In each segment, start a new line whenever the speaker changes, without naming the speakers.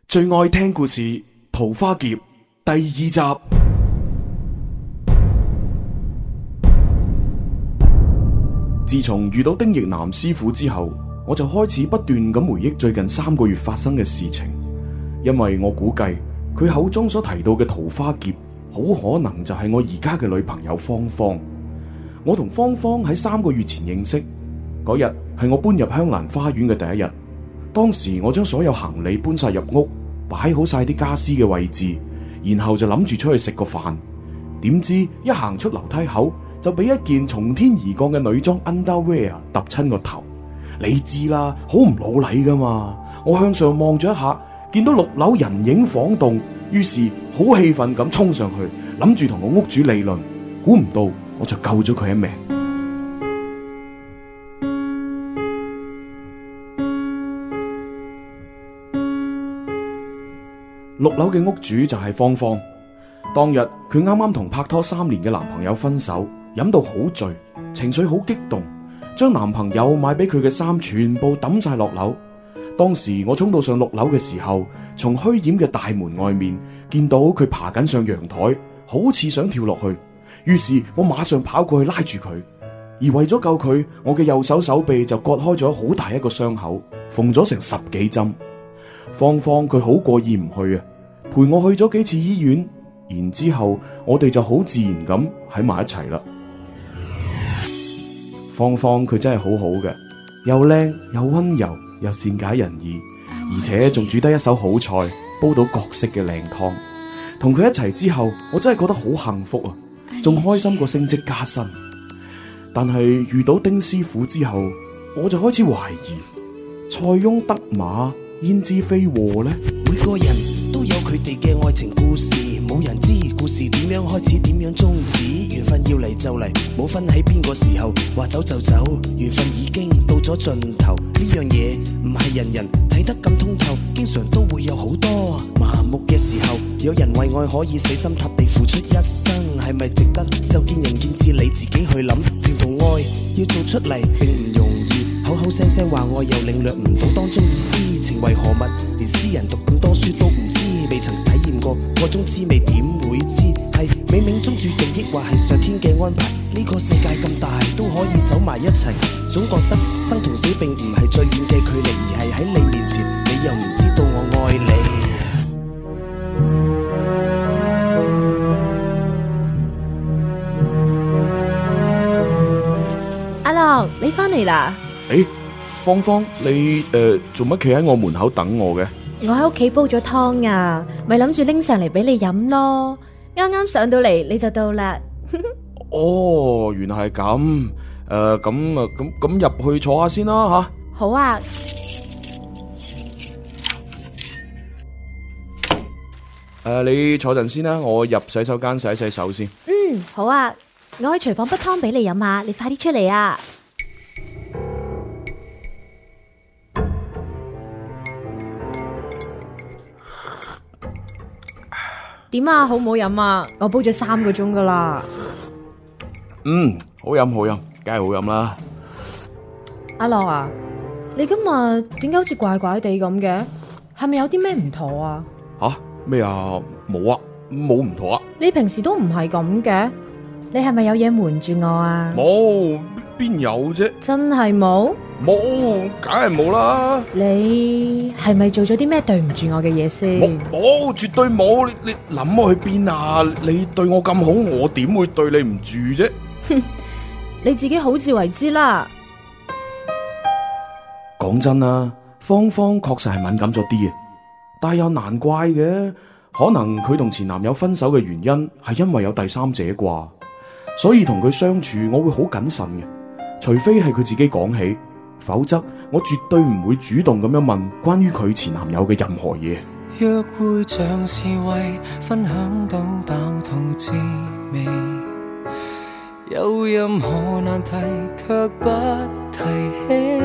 最愛聽故事《桃花劫》第2集。自從遇到丁奕南師傅之後，我就開始不斷咁回憶最近3個月發生嘅事情，因為我估計佢口中所提到嘅桃花劫，好可能就係我而家嘅女朋友芳芳。我同芳芳喺3個月前認識，嗰日係我搬入香蘭花園嘅第一日。當時我將所有行李搬晒入屋，擺好晒啲家私嘅位置，然後就諗住出去食個飯。點知一行出樓梯口，就俾一件從天而降嘅女裝 underwear 揼親個頭。你知啦，好唔老禮噶嘛。我向上望咗一下，見到6樓人影晃動，於是好氣憤咁衝上去，諗住同個屋主理論。估唔到我就救咗佢一命。6樓嘅屋主就係芳芳。當日佢啱啱同拍拖3年嘅男朋友分手，飲到好醉，情緒好激動，將男朋友買俾佢嘅衫全部抌晒落樓。當時我衝到上6樓嘅時候，從虛掩嘅大門外面見到佢爬緊上陽台，好似想跳落去。於是我馬上跑過去拉住佢，而為咗救佢，我嘅右手手臂就割開咗好大一個傷口，縫咗成10幾針。芳芳佢好過意唔去啊，陪我去咗幾次醫院，然之後我哋就好自然咁喺埋一齊啦。芳芳佢真係好好嘅，又靚又溫柔又善解人意，而且仲煮得一手好菜，煲到各式嘅靚湯。同佢一齊之後，我真係覺得好幸福啊，仲開心過升職加薪。但係遇到丁師傅之後，我就開始懷疑，塞翁得馬焉知非禍呢？
每個人都有佢哋嘅愛情故事，冇人知故事點樣開始，點樣終止。緣分要嚟就嚟，冇分喺邊個時候，話走就走，緣分已經到咗盡頭。呢樣嘢唔係人人睇得咁通透，經常都會有好多麻木嘅時候。有人為愛可以死心塌地付出一生，係咪值得就見仁見智，你自己去諗。情同愛要做出嚟並唔容易，口口聲聲話愛又領略唔到當中意思。情為何物，連詩人讀咁多書都唔知，未曾體驗過個種滋味點會知？係冥冥中注定，抑或係上天嘅安排？呢個世界咁大都可以走埋一齊，總覺得生同死並唔係最遠嘅距離，而係喺你面前，你又唔知道我愛你。
阿樂，你翻嚟啦？
誒，芳芳，你做乜企喺我門口等我嘅？
我喺屋企煲咗湯啊，咪諗住拎上嚟俾你飲咯。啱啱上到嚟你就到啦。
哦，原來係咁。咁入去坐下先啦吓。
好啊。
你坐陣先啦，我入洗手間洗洗手先。
好啊，我去廚房煲湯俾你飲下，你快啲出嚟啊！點啊，好唔好飲啊？我煲咗3個鐘噶啦。
好飲好飲，梗係好飲啦。
阿樂啊，你今日點解好似怪怪地咁嘅？係咪有啲咩唔妥啊？
吓？咩啊？冇啊，冇唔妥啊。
你平時都唔係咁嘅，你係咪有嘢瞞住我啊？
冇，邊有啫？
真係冇？
冇，梗係冇啦。
你係咪做咗啲咩對唔住我嘅嘢先？
冇，絕對冇。你諗我去邊啊？你對我咁好，我點會對你唔住啫？
哼，你自己好自為之啦。
講真啦，芳芳確實係敏感咗啲嘅，但係又難怪嘅，可能佢同前男友分手嘅原因係因為有第三者啩，所以同佢相處我會好謹慎嘅，除非係佢自己講起，否則我絕對唔會主動咁樣問關於佢前男友嘅任何嘢。
約會像是為分享到飽肚滋味，有任何難題卻不提起，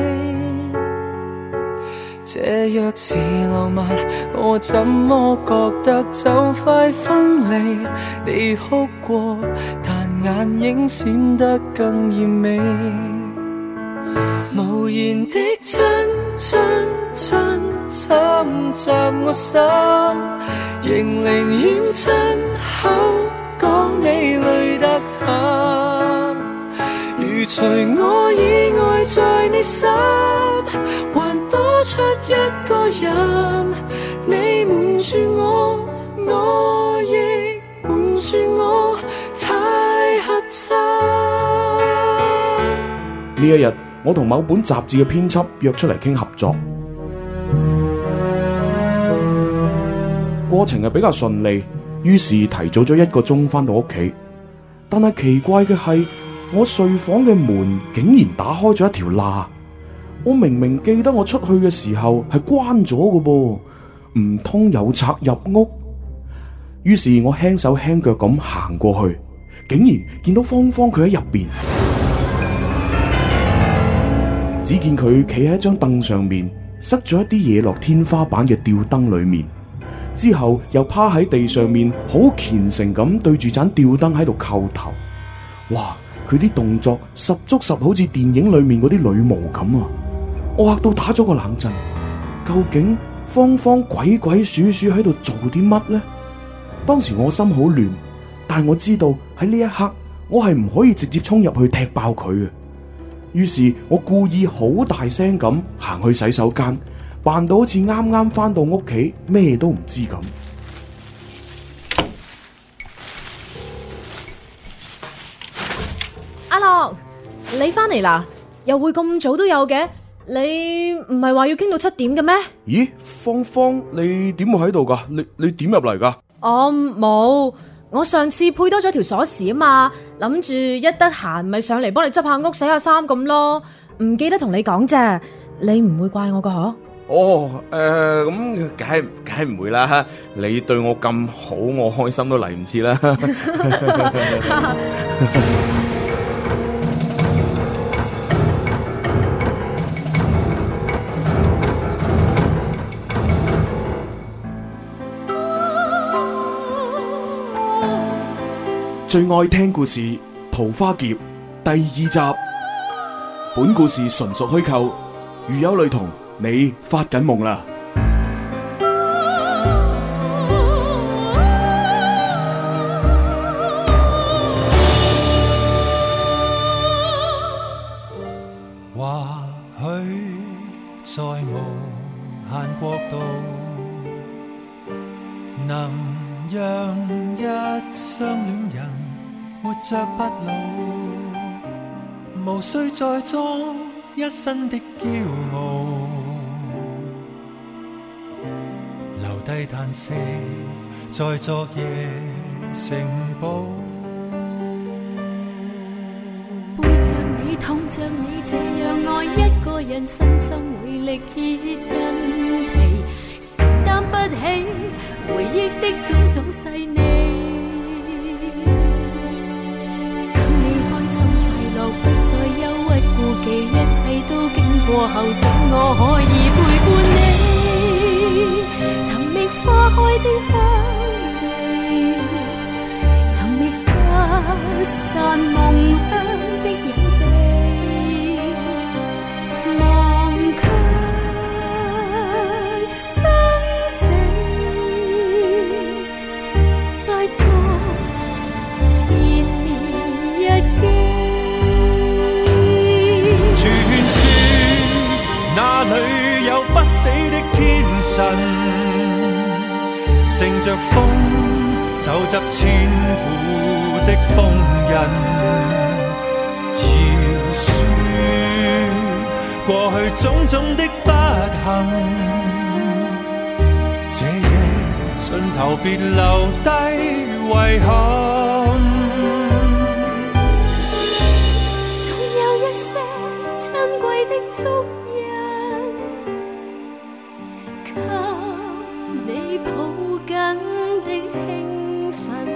這若是浪漫，我怎麼覺得就快分離？你哭過，但眼影閃得更豔美，無言的親親親侵襲我心，仍寧願親口講你累得很。如除我以外在你心，還多出一個人，你瞞住我，我亦瞞住我，太合襯。
呢一日，我同某本雜誌嘅編輯約出嚟傾合作，過程係比較順利，於是提早咗1個鐘返到屋企。但係奇怪嘅係，我睡房嘅門竟然打開咗一條罅。我明明記得我出去嘅時候係關咗嘅噃，唔通有賊入屋？於是我輕手輕腳咁行過去，竟然見到芳芳佢喺入邊。只見佢企喺一張凳上面，塞咗一啲嘢落天花板嘅吊燈裏面，之後又趴喺地上面，好虔誠咁對住盞吊燈喺度叩頭。哇！佢啲動作十足十好似電影裏面嗰啲女巫咁啊！我嚇到打咗個冷震。究竟芳芳鬼鬼祟祟喺度做啲乜呢？當時我心好亂，但我知道喺呢一刻，我係唔可以直接衝入去踢爆佢嘅。於是我故意好大聲咁行去洗手間，扮到好似啱啱返到屋企，咩都唔知咁。
阿樂，你返嚟啦？又會咁早都有嘅？你唔係話要傾到7點嘅咩？
咦，芳芳，你點會喺度噶？你點入嚟噶？
我冇，我上次配多咗條鎖匙啊嘛，諗住一得閒咪上嚟幫你執下屋、洗下衫咁咯，唔記得同你講啫，你唔會怪我噶嗬？
哦，咁梗係唔會啦，你對我咁好，我開心都嚟唔切啦。最愛聽故事《桃花劫》第2集。本故事純屬虛構，如有雷同，你發緊夢啦。
或許在無限國度，能讓一雙戀人活着不老，無需再裝一身的驕傲，留低嘆息在昨夜城堡。
背着你痛着你這樣愛一個人，身心會力竭筋疲，承擔不起回憶的種種細膩。想你開心快樂，不再憂鬱顧忌，一切都經過後，准我可以陪伴你。尋覓花開的香味，尋覓失散夢鄉的影地，忘卻生死，再做前年日記。
傳說那裏有不死的天神，乘着風手執千古的鋒刃，要說過去種種的不幸，這夜盡頭別留低遺憾。
總有一些珍貴的足印，給你抱緊的興奮。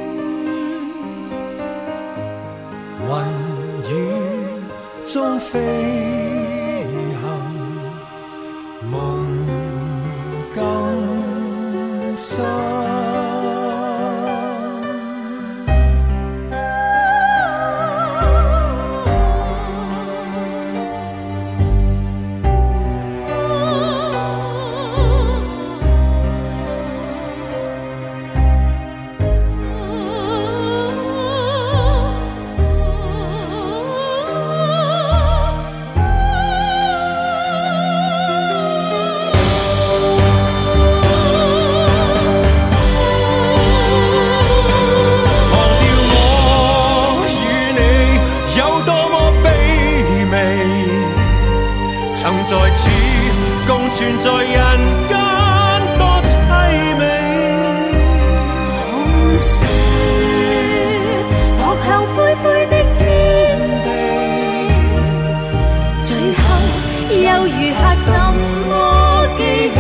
雲雨中飛行，夢更深。 存在人間多凄美。
紅雪撲向灰灰的天地，最後又餘下什麼記起？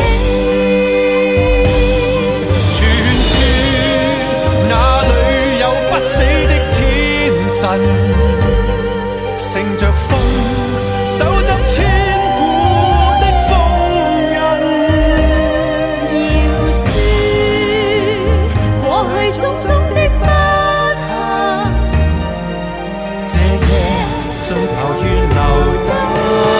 傳說那裏有不死的天神，乘着風手執千古的鋒刃。
要說過去種種的不幸，
這夜盡頭願留低。